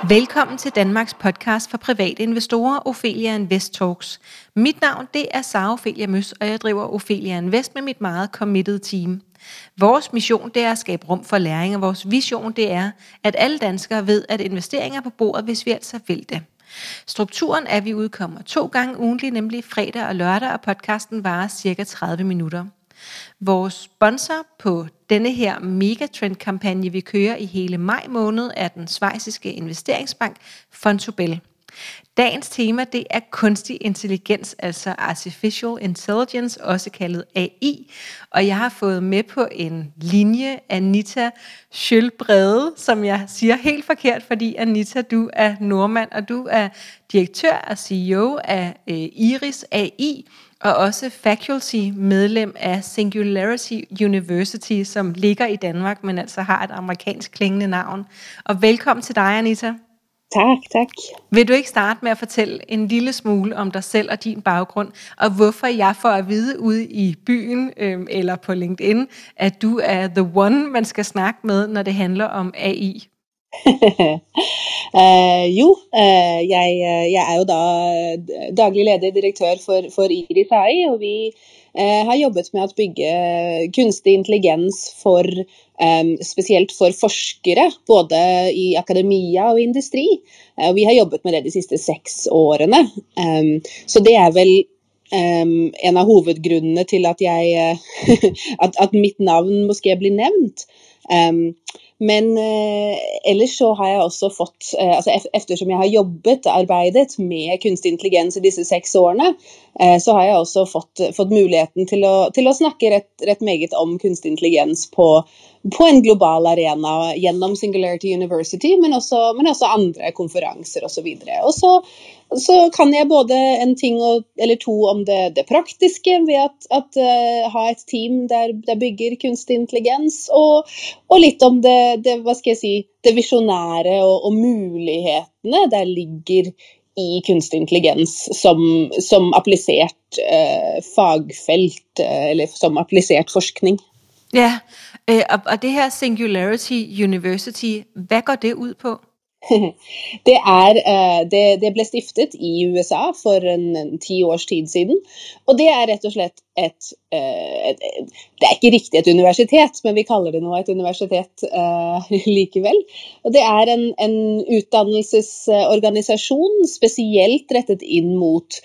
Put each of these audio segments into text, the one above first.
Velkommen til Danmarks podcast for private investorer, Ophelia Invest Talks. Mit navn det er Sara Ophelia Møs, og jeg driver Ophelia Invest med mit meget committed team. Vores mission det er at skabe rum for læring, og vores vision det er, at alle danskere ved, at investeringer er på bordet, hvis vi altså vil det. Strukturen er, at vi udkommer 2 gange ugentlig, nemlig fredag og lørdag, og podcasten varer cirka 30 minutter. Vores sponsor på denne her megatrend-kampagne, vi kører i hele maj måned, er den schweiziske investeringsbank Vontobel. Dagens tema det er kunstig intelligens, altså Artificial Intelligence, også kaldet AI. Og jeg har fået med på en linje Anita Schølbrede, som jeg siger helt forkert, fordi Anita, du er nordmand, og du er direktør og CEO af Iris AI, og også faculty-medlem af Singularity University, som ligger i Danmark, men altså har et amerikansk klingende navn. Og velkommen til dig, Anita. Tak. Vil du ikke starte med at fortælle en lille smule om dig selv og din baggrund, og hvorfor jeg får at vide ude i byen eller på LinkedIn, at du er the one, man skal snakke med, når det handler om AI? Jeg er jo da daglig leder direktør for Iris AI, og vi har jobbet med at bygge kunstig intelligens for spesielt for forskere, både i akademia og industri. Vi har jobbet med det de siste 6 årene, så det er vel en av hovedgrunnene til at at mitt navn måske blir nevnt. Men ellers så har jeg også fått, eftersom jeg har arbeidet med kunstig intelligens i disse 6 årene, så har jeg også fått muligheten til å snakke rett meget om kunstig intelligens på en global arena gjennom Singularity University, men også andre konferenser og så videre. Og så kan jeg både en ting eller to om det praktiske ved at ha et team der bygger kunstig intelligens, og litt om det visionære og mulighetene der ligger i kunstig intelligens som applisert fagfelt, eller som applisert forskning. Ja, og det her Singularity University, hvad går det ud på? Det ble stiftet i USA for 10 års tid siden, og det er rett og slett det er ikke riktig et universitet, men vi kaller det nå et universitet likevel. Og det er en utdannelsesorganisasjon spesielt rettet inn mot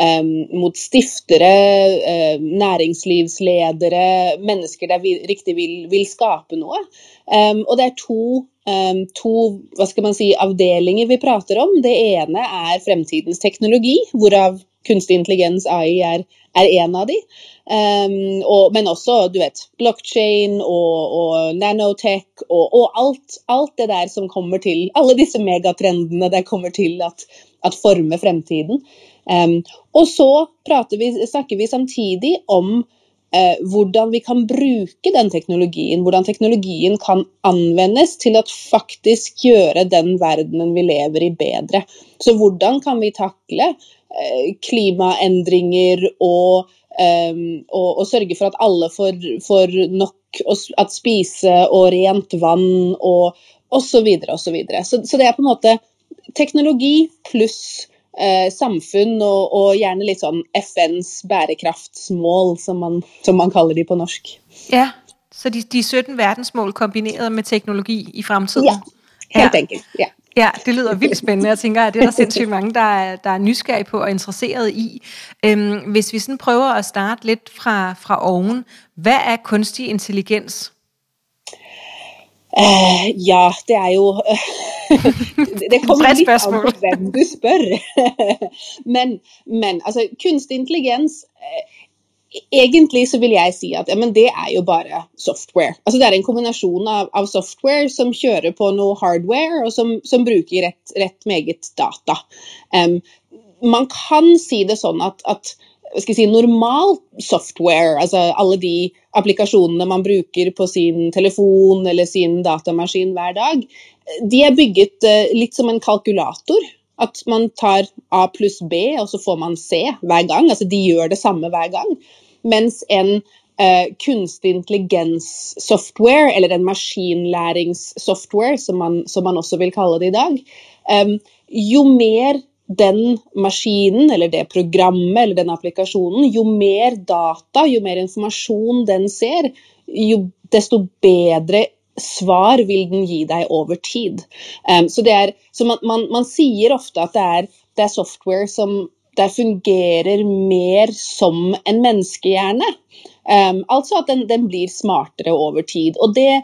stiftere, næringslivsledere, mennesker der riktig vil skape noe. Og det er to avdelinger vi prater om. Det ene er fremtidens teknologi, hvorav kunstig intelligens AI er en av de. Men også, blockchain og nanotech og alt det der som kommer til, alle disse megatrendene der kommer til at forme fremtiden. Og så snakker vi samtidig om hvordan vi kan bruke den teknologien, hvordan teknologien kan anvendes til at faktisk gjøre den verdenen vi lever i bedre. Så hvordan kan vi takle klimaendringer og sørge for at alle får nok at spise og rent vann og så videre og så videre. Så det er på en måte teknologi pluss samfunn og gjerne litt sånn FNs bærekraftsmål, som man kaller de på norsk. Ja, så de 17 verdensmål kombineret med teknologi i fremtiden. Ja, helt enkelt, ja. Ja, det lyder vildt spændende. Jeg tænker, at det er der sindssygt mange, der er nysgerrige på og interesseret i. Hvis vi sådan prøver at starte lidt fra oven, hvad er kunstig intelligens? Ja, det er jo det kommer litt an på hvem du spør. Men altså, kunstig intelligens, egentlig så vil jeg si at det er jo bare software. Altså det er en kombinasjon av software som kjører på noe hardware, og som bruker rett meget data. Man kan si det sånn at normal software, altså alle de applikasjonene man bruker på sin telefon eller sin datamaskin hver dag, de er bygget litt som en kalkulator, at man tar A pluss B, og så får man C hver gang, altså de gjør det samme hver gang, mens en kunstig intelligens software, eller en maskinlæringssoftware, som man også vil kalle det i dag, Jo mer den maskinen, eller det programmet, eller den applikasjonen, jo mer data, jo mer informasjon den ser, jo desto bedre svar vil den gi deg over tid. Så man sier ofte at det er software som der fungerer mer som en menneskehjerne. Altså at den blir smartere over tid. Og det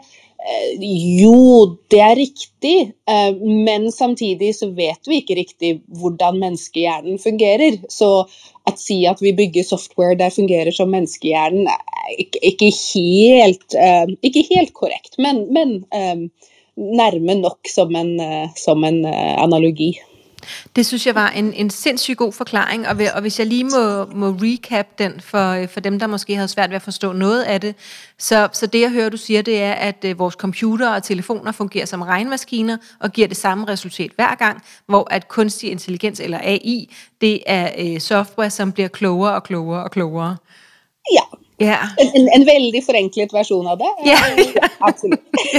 er riktig, men samtidig så vet vi ikke riktig hvordan menneskehjernen fungerer. Så si at vi bygger software der fungerer som menneskehjernen ikke helt korrekt, men nærme nok som en analogi. Det synes jeg var en sindssygt god forklaring, og hvis jeg lige må recap den for dem, der måske havde svært ved at forstå noget af det, så det jeg hører, du siger, det er, at vores computere og telefoner fungerer som regnmaskiner og giver det samme resultat hver gang, hvor at kunstig intelligens eller AI, det er software, som bliver klogere og klogere og klogere. Ja. Ja. En veldig forenklet version av det. Ja. Absolutt.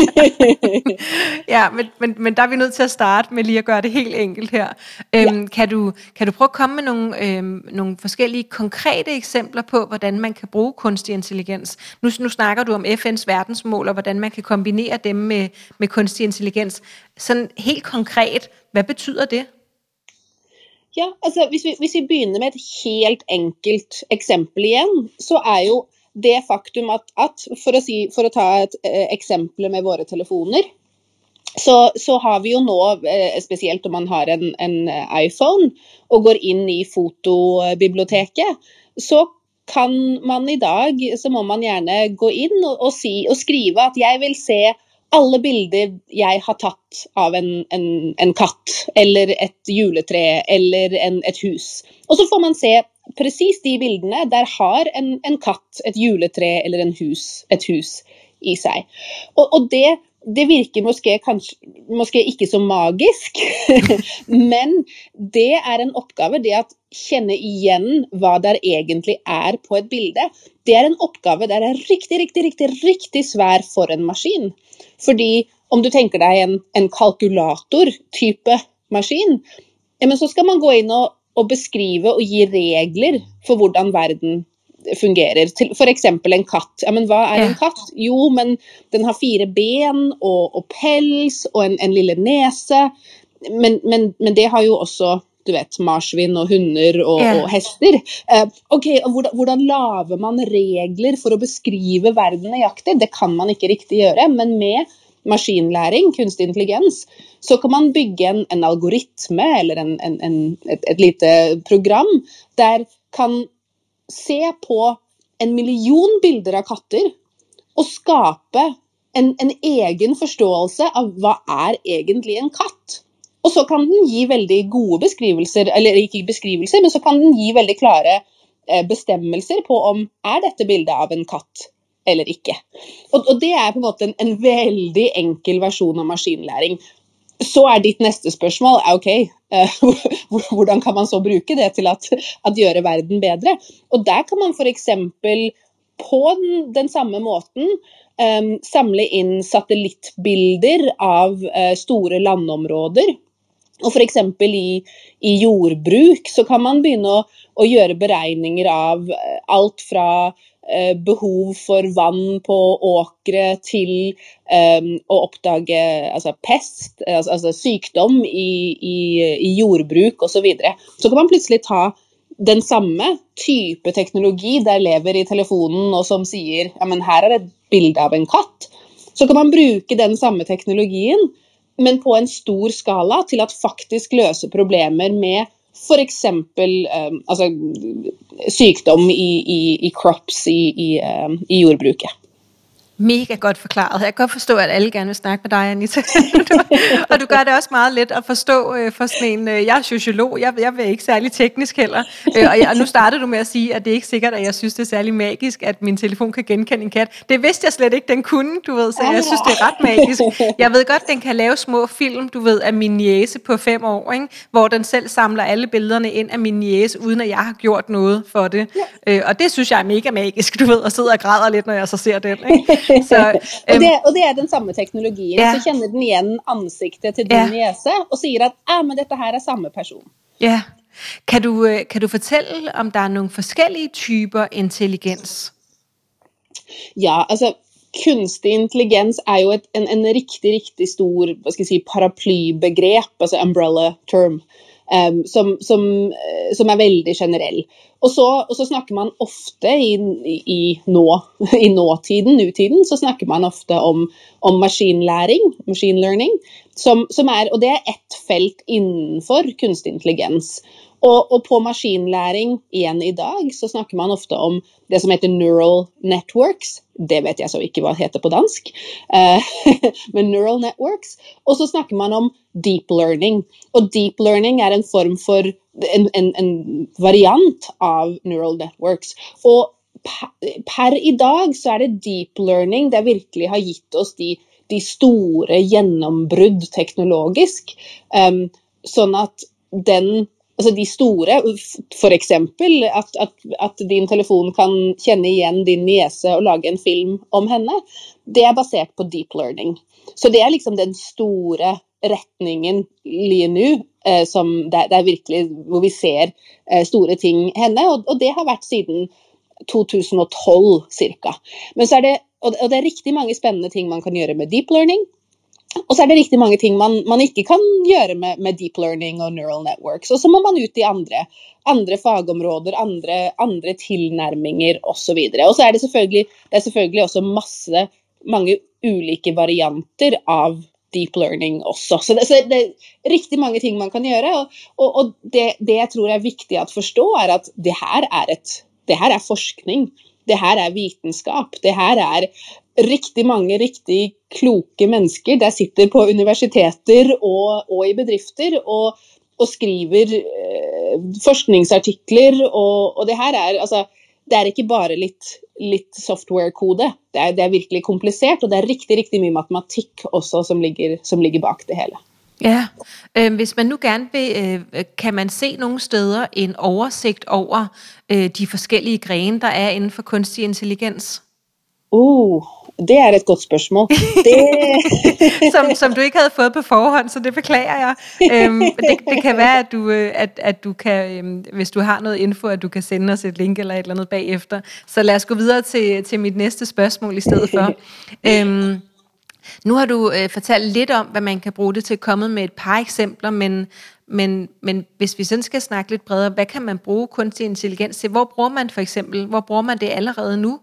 Ja, men der er vi nødt til at starte med lige at gøre det helt enkelt her. Kan du prøve at komme med nogle forskellige konkrete eksempler på, hvordan man kan bruge kunstig intelligens? Nu snakker du om FN's verdensmål, og hvordan man kan kombinere dem med kunstig intelligens. Sådan helt konkret, hvad betyder det? Ja, altså hvis vi begynner med et helt enkelt eksempel igjen, så jo det faktum at for å ta et eksempel med våre telefoner, så har vi jo nå, spesielt om man har en iPhone og går inn i fotobiblioteket, så kan man i dag, så må man gjerne gå inn og skrive at jeg vil se alle bilder jeg har tatt av en katt, eller et juletre, eller et hus. Og så får man se precis de bildene der har en katt, et juletre, eller et hus i seg. Og det virker måske ikke så magisk, men det en oppgave, det at kjenne igjen hva der egentlig på et bilde, det en oppgave der riktig svær for en maskin. Fordi om du tenker deg en kalkulator-type maskin, men så skal man gå inn og beskrive og gi regler for hvordan verden fungerer. For eksempel en katt. Ja, men hva en katt? Jo, men den har 4 ben og pels og en lille nese. Men det har jo også, du vet, marsvin og hunder og hester. Ok, og hvordan laver man regler for å beskrive verden nøyaktig? Det kan man ikke riktig gjøre, men med maskinlæring, kunstig intelligens, så kan man bygge en algoritme eller et lite program der kan se på 1 million bilder av katter og skape en egen forståelse av hva egentlig en katt. Og så kan den gi veldig gode beskrivelser, eller ikke beskrivelser, men så kan den gi veldig klare bestemmelser på om dette bildet av en katt eller ikke. Og det på en måte en veldig enkel versjon av maskinlæring. Så ditt neste spørsmål, ok, hvordan kan man så bruke det til at gjøre verden bedre? Og der kan man for eksempel på den samme måten samle inn satellittbilder av store landområder. Og for eksempel i jordbruk så kan man begynne å gjøre beregninger av alt fra behov for vann på åkre til å oppdage pest, altså sykdom i jordbruk og så videre. Så kan man plutselig ta den samme type teknologi der lever i telefonen og som sier, ja, men her et bilde av en katt. Så kan man bruke den samme teknologien, men på en stor skala til at faktisk løse problemer med for eksempel sykdom i crops i jordbruket. Mega godt forklaret. Jeg kan godt forstå, at alle gerne vil snakke med dig, Anita. Og du gør det også meget let at forstå for sådan en, jeg sociolog, jeg er ikke særlig teknisk heller. Og nu startede du med at sige, at det ikke sikkert, at jeg synes, det er særlig magisk, at min telefon kan genkende en kat. Det vidste jeg slet ikke, den kunne, du ved, så jeg synes, det ret magisk. Jeg ved godt, den kan lave små film, du ved, af min niece på 5 år, ikke? Hvor den selv samler alle billederne ind af min niece, uden at jeg har gjort noget for det. Og det synes jeg er mega magisk, du ved, og sidder og græder lidt, når jeg så ser den, ikke? Så, og det den samme teknologien, ja. så kjenner den igjen ansiktet til din niese, og sier at, men dette her samme person. Ja. Kan du fortælle, om der nogle forskellige typer intelligens? Ja, altså, kunstig intelligens jo en riktig stor, hva skal jeg si, paraplybegrep, altså umbrella term, som veldig generell. Og så snakker man ofte i nutiden, så snakker man ofte om maskinlæring, machine learning, og det ett felt innenfor kunstig intelligens. Og på maskinlæring igjen i dag, så snakker man ofte om det som heter neural networks. Det vet jeg så ikke hva det heter på dansk, men neural networks. Og så snakker man om deep learning. Og deep learning en form for en variant av neural networks. Og per i dag så det deep learning det virkelig har gitt oss de store gjennombrudd teknologisk. Sånn at altså de store, for eksempel at din telefon kan kjenne igjen din niese og lage en film om henne, det basert på deep learning. Så det liksom den store retningen lige nu, som det virkelig, hvor vi ser store ting henne, og det har vært siden 2012 cirka. Men så det, og det riktig mange spennende ting man kan gjøre med deep learning, og så det riktig mange ting man ikke kan gjøre med deep learning og neural networks, og så må man ut i andre fagområder, andre tilnærminger og så videre. Og så det selvfølgelig også mange ulike varianter av deep learning også. Så det riktig mange ting man kan gjøre, og det jeg tror viktig å forstå at det her forskning, det her vitenskap, det her riktig mange riktig kloke mennesker der sitter på universiteter og i bedrifter og skriver forskningsartikler, og det her altså, det ikke bare litt software-kode, det virkelig komplisert, og det riktig mye matematikk også som ligger bak det hele. Ja, hvis man nu gerne vil, kan man se nogle steder en oversigt over de forskellige grene, der inden for kunstig intelligens? Det et godt spørsmål. som du ikke havde fået på forhånd, så det beklager jeg. Det kan være, at du kan, hvis du har noget info, at du kan sende os et link eller et eller andet bagefter. Så lad os gå videre til mit næste spørgsmål i stedet for. Nu har du fortalt lidt om, hvad man kan bruge det til, kommet med et par eksempler, men hvis vi sådan skal snakke lidt bredere, hvad kan man bruge kunstig intelligens til? Hvor bruger man det allerede nu?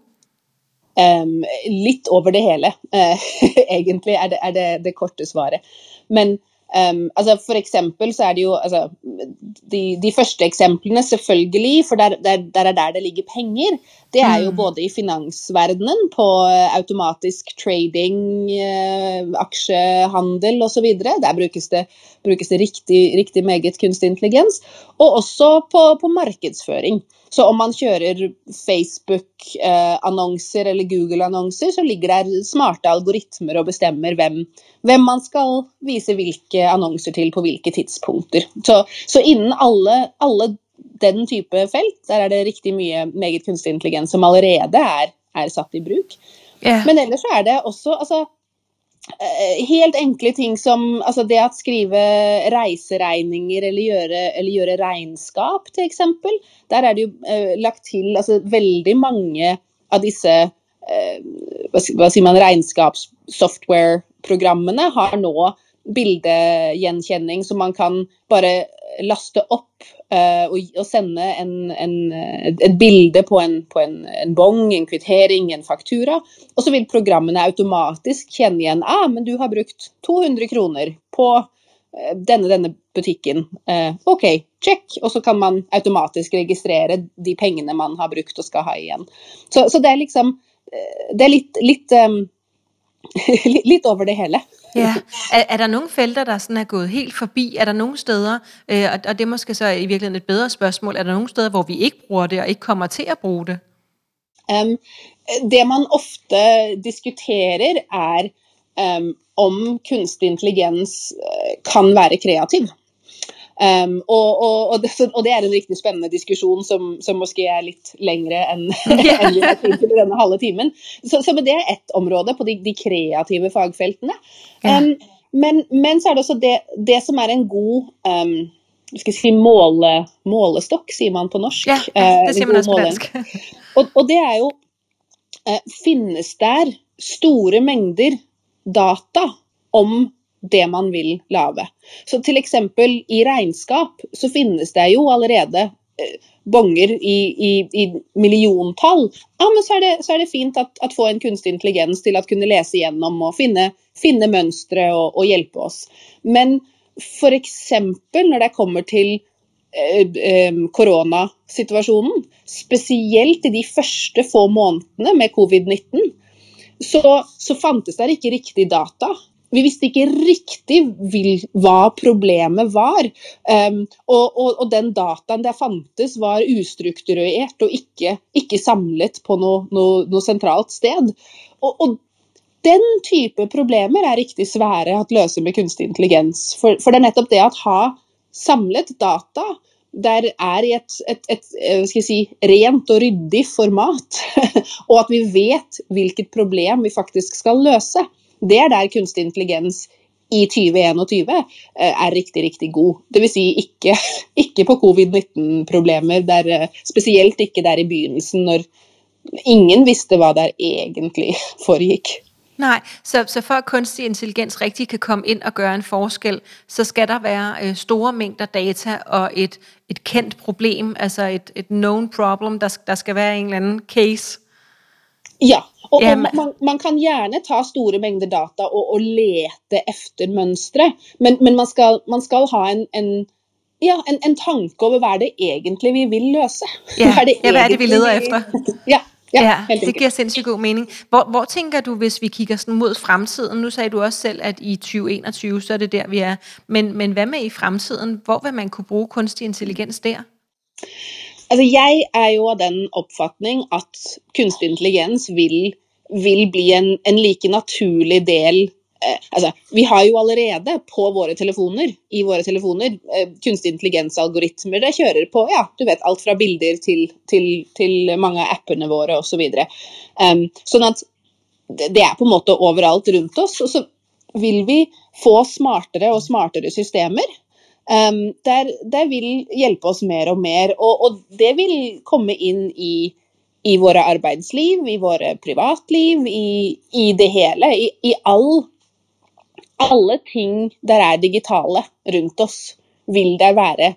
Litt over det hele, egentlig det korte svaret. Men altså for eksempel så det jo altså, de første eksemplene selvfølgelig, for der det ligger penger, det jo både i finansverdenen på automatisk trading, aksjehandel og så videre, der brukes det riktig meget kunstig intelligens, og også på markedsføring. Så om man kjører Facebook-annonser eller Google-annonser, så ligger der smarte algoritmer og bestemmer hvem man skal vise hvilke annonser til på hvilke tidspunkter. Så innen alle den type felt, der det riktig mye meget kunstig intelligens som allerede satt i bruk. Yeah. Men ellers så det også altså, helt enkle ting som altså det at skrive reiseregninger eller gjøre regnskap til eksempel, der det jo lagt til altså, veldig mange av disse hva sier man, regnskapssoftware-programmene har nå bildegjenkjenning som man kan bare laste opp og sende et bilde på en bong, en kvittering, en faktura, og så vil programmene automatisk kjenne igjen, men du har brukt 200 kroner på denne butikken. Ok, check, og så kan man automatisk registrere de pengene man har brukt og skal ha igjen. Så det liksom, det litt over det hele. Ja. Der nogle felter, der sådan gået helt forbi? Der nogle steder, og det måske så i virkeligheden et bedre spørgsmål, der nogle steder, hvor vi ikke bruger det og ikke kommer til at bruge det? Det man ofte diskuterer om kunstig intelligens kan være kreativ. Og det en riktig spennende diskusjon som måske litt lengre enn enn vi har tid til i denne halve timen. Så men det ett område på de kreative fagfeltene. Men så det også det som en god skal jeg si målestokk, sier man på norsk. Ja, det sier man også på dansk. Og det jo finnes der store mengder data om det man vil lave. Så til eksempel i regnskap så finnes det jo allerede bonger i milliontall. Men så det fint at få en kunstig intelligens til at kunne lese igjennom og finne mønstre og hjelpe oss. Men for eksempel når det kommer til koronasituasjonen, spesielt i de første få månedene med covid-19, så fantes det ikke riktig data. Vi visste ikke riktig hva problemet var, og den dataen der fantes var ustrukturert og ikke samlet på noe sentralt sted. Og den type problemer riktig svære å løse med kunstig intelligens, for det nettopp det at ha samlet data der i et skal jeg si, rent og ryddig format, og at vi vet hvilket problem vi faktisk skal løse. Det der kunstig intelligens i 2021 riktig god. Det vil si ikke på covid-19-problemer, spesielt ikke der i begynnelsen, når ingen visste hva der egentlig foregikk. Nej, så for at kunstig intelligens rigtig kan komme ind og gøre en forskel, så skal der være store mængder data og et kendt problem, altså et known problem, der skal være en eller anden case. Ja, og man kan gjerne ta store mængder data og lete efter mønstre, men man skal ha en tanke over hvad det egentlig vi vil løse. Hvad det vi leder efter? Ja, det giver sindssygt god mening. Hvor tænker du, hvis vi kigger sådan mod fremtiden? Nu sagde du også selv, at i 2021, så det der, vi Men hvad med i fremtiden? Hvor vil man kunne bruge kunstig intelligens der? Altså, jeg jo av den oppfatning at kunstig intelligens vil bli en like naturlig del. Altså, vi har jo allerede på i våre telefoner, kunstig intelligens-algoritmer det kjører på, du vet, alt fra bilder til mange av appene våre og så videre. Sånn at det på en måte overalt rundt oss, og så vil vi få smartere og smartere systemer, der vil hjelpe oss mer og mer, og det vil komme inn i våre arbeidsliv, i våre privatliv, i det hele, i alle ting der digitale rundt oss, vil det være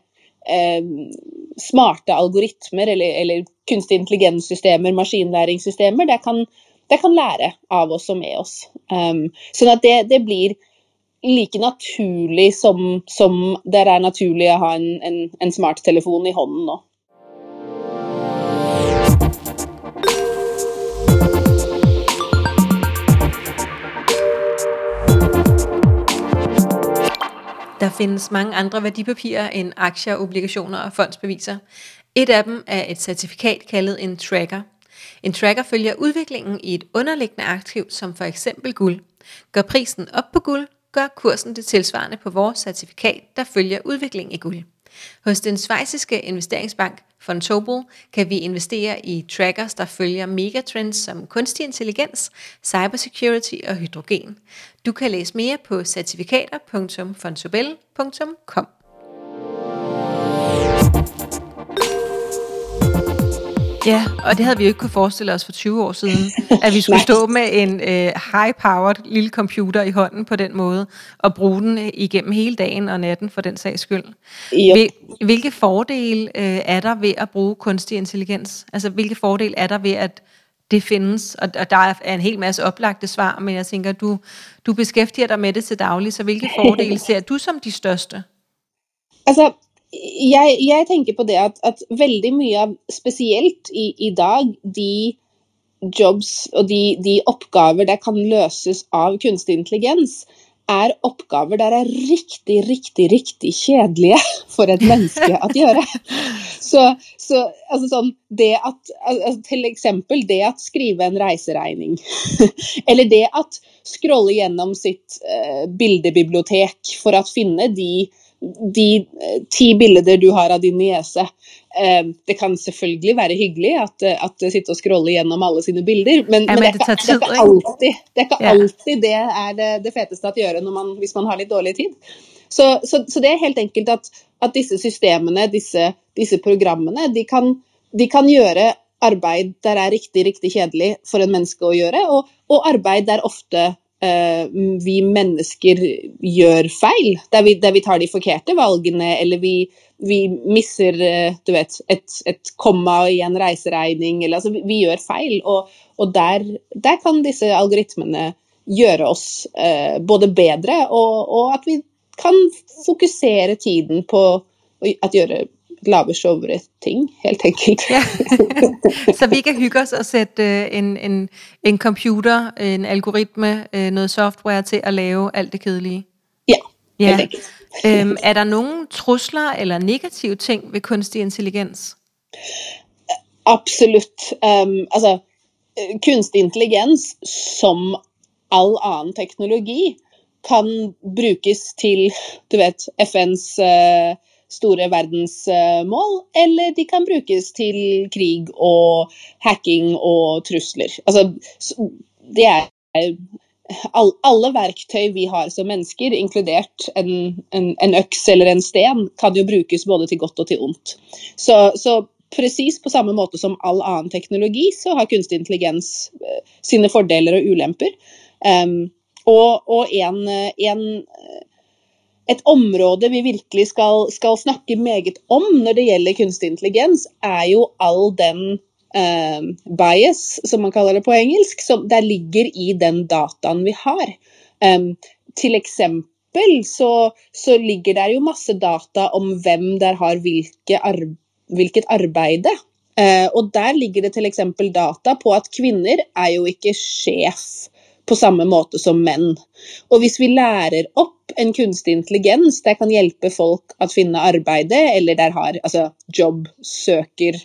smarte algoritmer eller kunstig intelligenssystemer, maskinlæringssystemer, det kan lære av oss og med oss. Sånn at det blir like naturlig som det naturlig å ha en smarttelefon i hånden nå. Der findes mange andre værdipapirer end aktier, obligationer og fondsbeviser. Et af dem et certifikat kaldet en tracker. En tracker følger udviklingen i et underliggende aktiv, som for eksempel guld. Går prisen op på guld, gør kursen det tilsvarende på vores certifikat, der følger udviklingen i guld. Hos den schweiziske investeringsbank Vontobel kan vi investere i trackers, der følger megatrends som kunstig intelligens, cybersecurity og hydrogen. Du kan læse mere på certifikater.vontobel.com. Ja, og det havde vi jo ikke kunne forestille os for 20 år siden, at vi skulle stå med en high-powered lille computer i hånden på den måde, og bruge den igennem hele dagen og natten for den sags skyld. Hvilke fordele der ved at bruge kunstig intelligens? Altså, hvilke fordele der ved, at det findes? Og der en hel masse oplagte svar, men jeg tænker, du beskæftiger dig med det til daglig, så hvilke fordele ser du som de største? Altså, jeg tenker på det at veldig mye av, spesielt i dag, de jobs og de oppgaver der kan løses av kunstig intelligens, oppgaver der riktig kjedelige for et menneske å gjøre. Så altså sånn, det til eksempel det at skrive en reiseregning, eller det at scrolle gjennom sitt bildebibliotek for å finne de de 10 bilder du har av din niese. Det kan selvfølgelig være hyggelig at sitte og scrolle gjennom alle sine bilder, men det er ikke alltid det er det feteste at gjøre hvis man har litt dårlig tid. Så det er helt enkelt at disse systemene, disse programmene, de kan gjøre arbeid der er riktig, riktig kjedelig for en menneske å gjøre, og arbeid der ofte vi mennesker gjør feil, der vi tar de forkerte valgene, eller vi misser, du vet, et komma i en reiseregning, eller altså vi gjør feil, og der kan disse algoritmene gjøre oss både bedre, og at vi kan fokusere tiden på at gjøre lave sjovere ting, helt enkelt. Ja. Så vi kan hygge os og sætte en computer, en algoritme, noget software til at lave alt det kedelige? Ja, helt enkelt. Er der nogle trusler eller negative ting ved kunstig intelligens? Absolut. Altså, kunstig intelligens, som all annen teknologi, kan brukes til, du vet, FNs store verdensmål, eller de kan brukes til krig og hacking og trusler. Altså, det er alle verktøy vi har som mennesker, inkludert en øks eller en sten, kan jo brukes både til godt og til ondt. Så precis på samme måte som all annen teknologi, så har kunstig intelligens sine fordeler og ulemper. Og et område vi virkelig skal snakke meget om når det gjelder kunstig intelligens, er jo all den bias, som man kaller det på engelsk, som der ligger i den dataen vi har. Til eksempel så ligger der jo masse data om hvem der har hvilket arbeide. Og der ligger det til eksempel data på at kvinner er jo ikke sjef på samme måte som menn. Og hvis vi lærer opp en kunstig intelligens, der kan hjelpe folk å finne arbeide, eller der har jobbsøker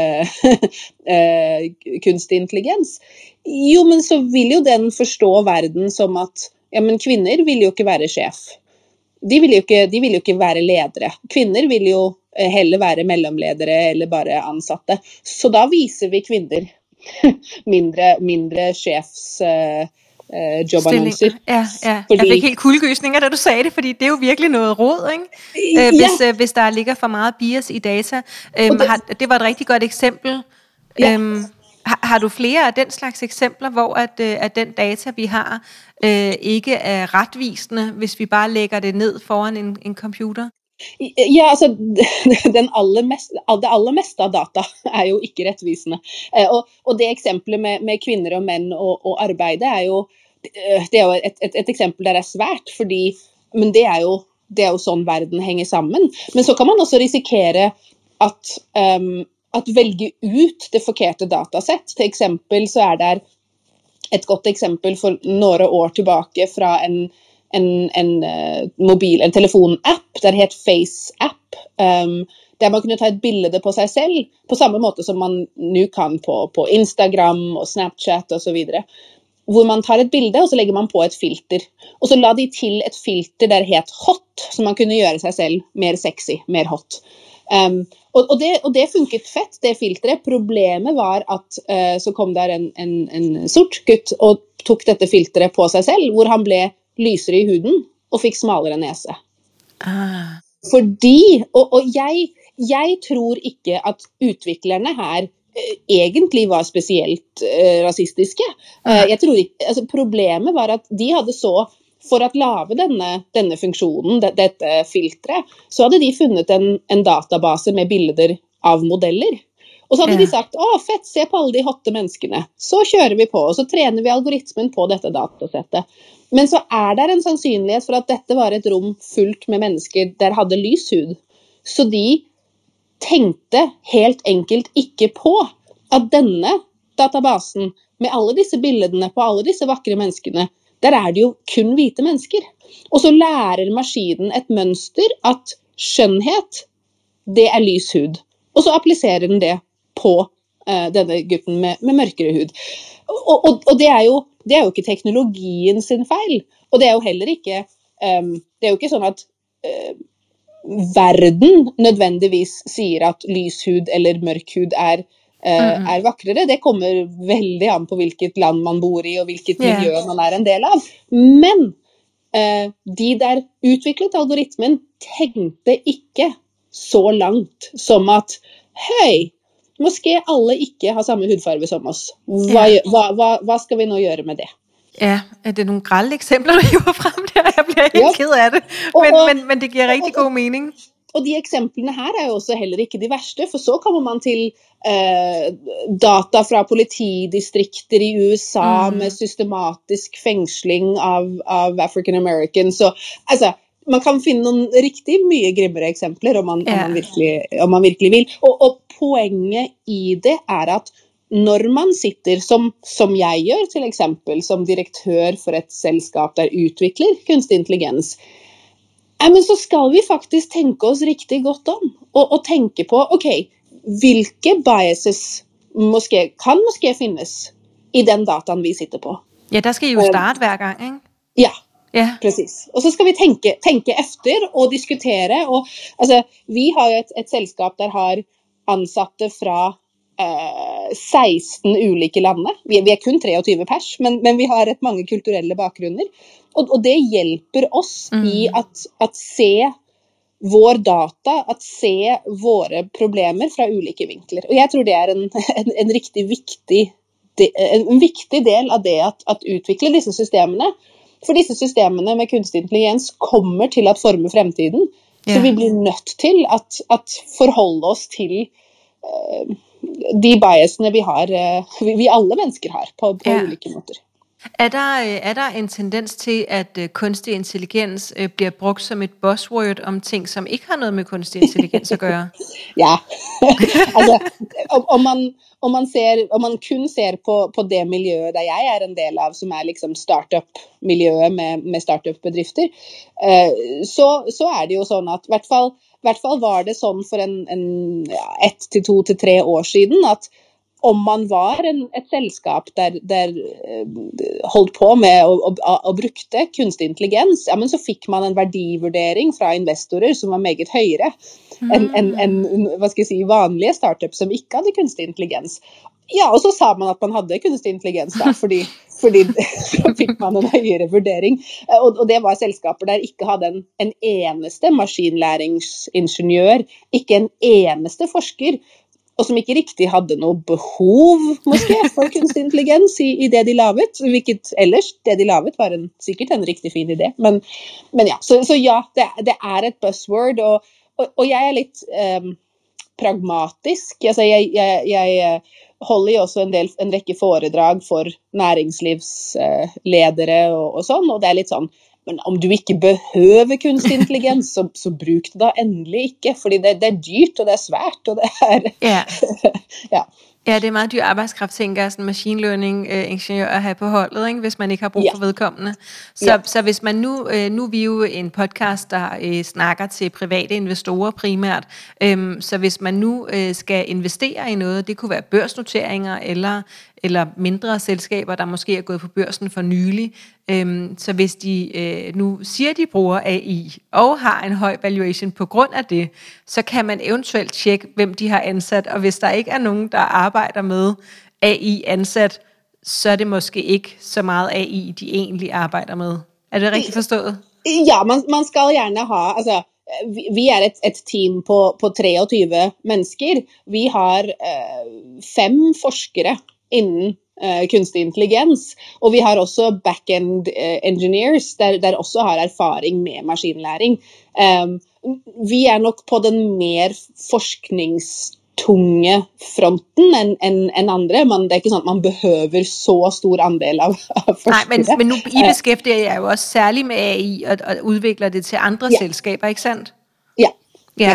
kunstig intelligens, jo, men så vil jo den forstå verden som at ja, men kvinner vil jo ikke være sjef. De vil jo ikke være ledere. Kvinner vil jo heller være mellomledere eller bare ansatte. Så da viser vi kvinner mindre sjefs jobbannonser. Ja. Jeg fik helt kuldegysninger, da du sagde det, fordi det er jo virkelig noget rod, ikke? Hvis der ligger for meget bias i data. Det var et rigtig godt eksempel. Ja. Har du flere af den slags eksempler, hvor at den data, vi har, ikke er retvisende, hvis vi bare lægger det ned foran en computer? Ja, altså, det aller meste av data er jo ikke rettvisende. Og det eksempelet med kvinner og menn og arbeide er jo et eksempel der er svært, men det er jo sånn verden henger sammen. Men så kan man også risikere at velge ut det forkerte datasett. Til eksempel så er det et godt eksempel for noen år tilbake fra en telefonapp, der het Face-app, der man kunne ta et bilde på seg selv, på samme måte som man nå kan på Instagram og Snapchat og så videre, hvor man tar et bilde, og så legger man på et filter. Og så la de til et filter der het hot, så man kunne gjøre seg selv mer sexy, mer hot. Og det funket fett, det filteret. Problemet var at så kom der en sort gutt og tok dette filteret på seg selv, hvor han ble lysere i huden og fikk smalere nese. Fordi, og jeg tror ikke at utviklerne her egentlig var spesielt rasistiske. Jeg tror ikke, altså problemet var at de hadde for å lage denne funksjonen, dette filteret, så hadde de funnet en database med bilder av modeller. Og så hadde de sagt, fett, se på alle de hotte menneskene. Så kjører vi på, og så trener vi algoritmen på dette datasettet. Men så er det en sannsynlighet for at dette var et rom fullt med mennesker der hadde lys hud. Så de tenkte helt enkelt ikke på at denne databasen med alle disse bildene på alle disse vakre menneskene, der er det jo kun hvite mennesker. Og så lærer maskinen et mønster at skjønnhet, det er lys hud. Og så appliserer den det på denne gutten med mørkere hud. Og det er jo ikke teknologien sin feil. Og det er jo heller ikke, det er jo ikke sånn at verden nødvendigvis sier at lyshud eller mørkhud er vakrere. Det kommer veldig an på hvilket land man bor i, og hvilket miljø man er en del av. Men de der utviklet algoritmen tenkte ikke så langt som at hei, måske alle ikke har samme hudfarve som oss. Hva skal vi nå gjøre med det? Ja, det nogle grelle eksempler, du hiver frem der. Jeg bliver helt ked af det. Men det giver rigtig god mening. Og de eksemplene her er jo også heller ikke de verste, for så kommer man til data fra politidistrikter i USA med systematisk fengsling av African Americans. Så altså, man kan finne noen riktig mye grimmere eksempler om man virkelig vil. Og poenget i det er at når man sitter, som jeg gjør til eksempel, som direktør for et selskap der utvikler kunstig intelligens, men så skal vi faktisk tenke oss riktig godt om, og tenke på, ok, hvilke biases kan måske finnes i den dataen vi sitter på. Ja, der skal I jo starte hver gang, ikke? Ja, precis. Og så skal vi tenke efter og diskutere, og altså, vi har jo et selskap der har ansatte fra 16 ulike lande. Vi er kun 23 pers, men vi har et mange kulturelle bakgrunner. Og det hjelper oss i at se vår data, at se våre problemer fra ulike vinkler. Og jeg tror det er en riktig viktig del av det at utvikle disse systemene. For disse systemene med kunstig intelligens kommer til at forme fremtiden. Så vi blir nødt til at forholde oss til de biasene vi alle mennesker har på ulike måter. Er der en tendens til, at kunstig intelligens bliver brugt som et buzzword om ting, som ikke har noget med kunstig intelligens at gøre? Ja, altså, om man kun ser på det miljøet der jeg er en del av, som er liksom startup-miljøet med startup-bedrifter, så er det jo sånn at i hvert fall var det sånn for 1 til 2 til 3 år siden, at om man var et selskap der holdt på med å brukte kunstig intelligens, men så fikk man en verdivurdering fra investorer som var meget høyere enn hva skal jeg si, vanlige startups som ikke hadde kunstig intelligens. Ja, og så sa man at man hadde kunstig intelligens da, fordi så fikk man en høyere vurdering. Og det var selskaper der ikke hadde en eneste maskinlæringsingeniør, ikke en eneste forsker, og som ikke riktig hadde noe behov, måske, for kunstig intelligens i det de lavet, hvilket ellers, det de lavet var sikkert en riktig fin idé. Men ja, så ja, det er et buzzword, og jeg er litt pragmatisk. Altså, jeg holder jo også en rekke foredrag for næringslivsledere og sånn, og det er litt sånn, men om du ikke behøver kunstig intelligens, så bruk det da endelig ikke, fordi det er dyrt, og det er svært, og det er... Ja, det er meget dyr arbejdskraft, tænker jeg, sådan machine learning ingeniør at have på holdet, ikke? Hvis man ikke har brug for vedkommende. Så hvis man nu er vi jo en podcast, der snakker til private investorer primært, så hvis man nu skal investere i noget, det kunne være børsnoteringer eller mindre selskaber, der måske er gået på børsen for nylig, så hvis de nu siger, de bruger AI og har en høj valuation på grund af det, så kan man eventuelt tjekke, hvem de har ansat, og hvis der ikke er nogen, der arbejder med AI ansat, så er det måske ikke så meget AI, de egentlig arbejder med. Er det rigtigt forstået? Ja, man skal gerne ha, altså, vi er et team på 23 mennesker. Vi har 5 forskere innen kunstig intelligens, og vi har også back-end engineers der også har erfaring med maskinlæring. Vi er nok på den mer forskningstunge fronten enn andre, men det er ikke sånn at man behøver så stor andel av forskere. Nej, men nu I beskæftiger jer jo også særligt med AI og udvikler det til andre selskaber, ikke sandt? Ja.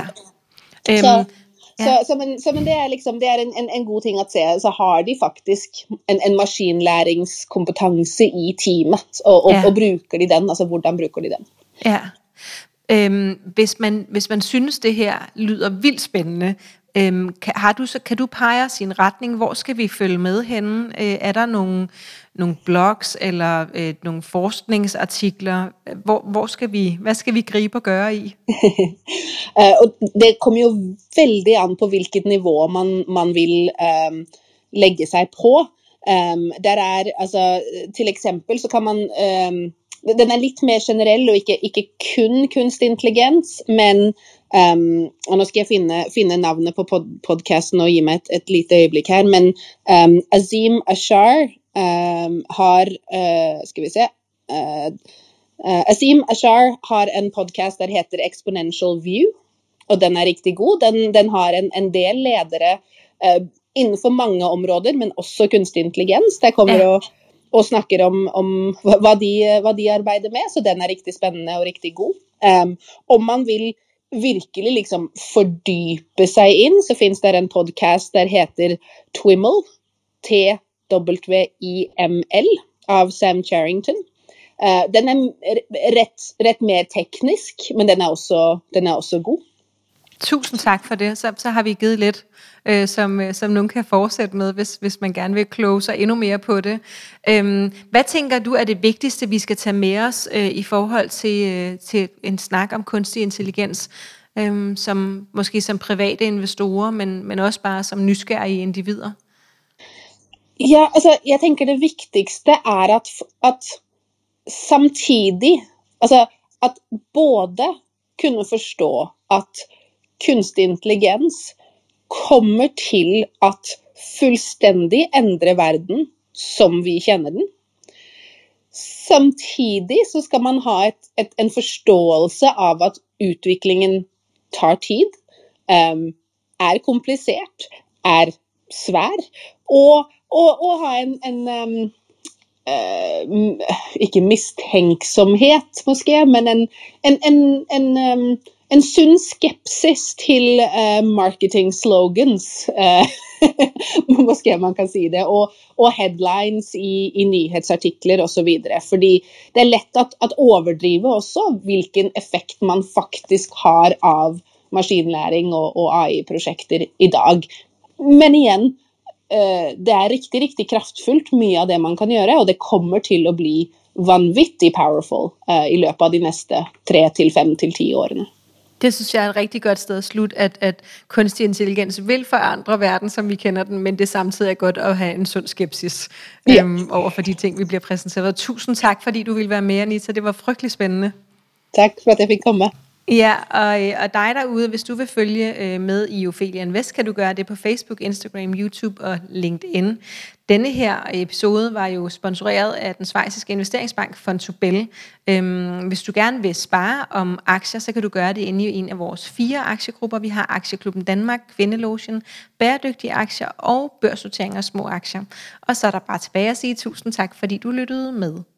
Men det er liksom, det er en god ting at se, så har de faktisk en maskinlæringskompetanse i teamet, og bruker de den, altså hvordan bruker de den? Ja. Hvis man synes det her lyder vildt spændende, Kan du pege os i en retning? Hvor skal vi følge med henne? Er der nogle blogs eller nogle forskningsartikler? Hvad skal vi gribe og gøre i? Og det kommer jo veldig an på hvilket nivå man vil legge seg på. Der altså, til eksempel så kan man den litt mer generell og ikke kun kunstig intelligens, men og nå skal jeg finne navnet på podcasten og gi meg et lite øyeblikk her, men Azeem Ashar har skal vi se Azeem Ashar har en podcast der heter Exponential View, og den riktig god. Den har en del ledere innenfor mange områder, men også kunstig intelligens. Der kommer og snakker om hva de arbeider med, så den riktig spennende og riktig god. Om man vil virkelig liksom fordype seg inn, så finnes det en podcast der heter Twiml, TWIML, av Sam Charrington. Den rett mer teknisk, men den også god. Tusind tak for det. Så har vi givet lidt, som nogen kan fortsætte med, hvis man gerne vil kloge sig endnu mere på det. Hvad tænker du er det vigtigste, vi skal tage med os i forhold til en snak om kunstig intelligens, måske som private investorer, men også bare som nysgerrige individer? Ja, altså, jeg tænker det vigtigste at samtidig, altså at både kunne forstå at kunstig intelligens kommer til at fuldstændig ændre verden, som vi kender den. Samtidig så skal man ha en forståelse av at utviklingen tar tid, komplicert, svær, og ha en ikke mistenksomhet måske, men en sunn skepsis til marketing slogans, måske man kan si det, og headlines i nyhetsartikler og så videre, fordi det lett at overdrive også hvilken effekt man faktisk har av maskinlæring og AI-projekter i dag. Men igjen, det riktig kraftfullt mye av det man kan gjøre, og det kommer til å bli vanvittig powerful i løpet av de neste 3 til 5 til 10 årene. Det synes jeg et rigtig godt sted at slutte, at kunstig intelligens vil forandre verden, som vi kender den, men det samtidig godt at have en sund skepsis over for de ting, vi bliver præsenteret. Tusind tak, fordi du ville være med, Anita. Det var frygtelig spændende. Tak for at jeg fik komme. Ja, og dig derude, hvis du vil følge med i Ophelia Invest, kan du gøre det på Facebook, Instagram, YouTube og LinkedIn. Denne her episode var jo sponsoreret af den schweiziske investeringsbank Vontobel. Hvis du gerne vil spare om aktier, så kan du gøre det inde i en af vores 4 aktiegrupper. Vi har Aktieklubben Danmark, Kvindelogen, Bæredygtige Aktier og Børsnotering af små aktier. Og så er der bare tilbage at sige tusind tak, fordi du lyttede med.